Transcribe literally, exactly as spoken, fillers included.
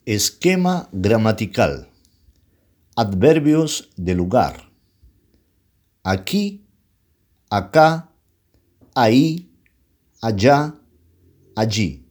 Esquema gramatical. Adverbios de lugar. Aquí, acá, ahí, allá, allí.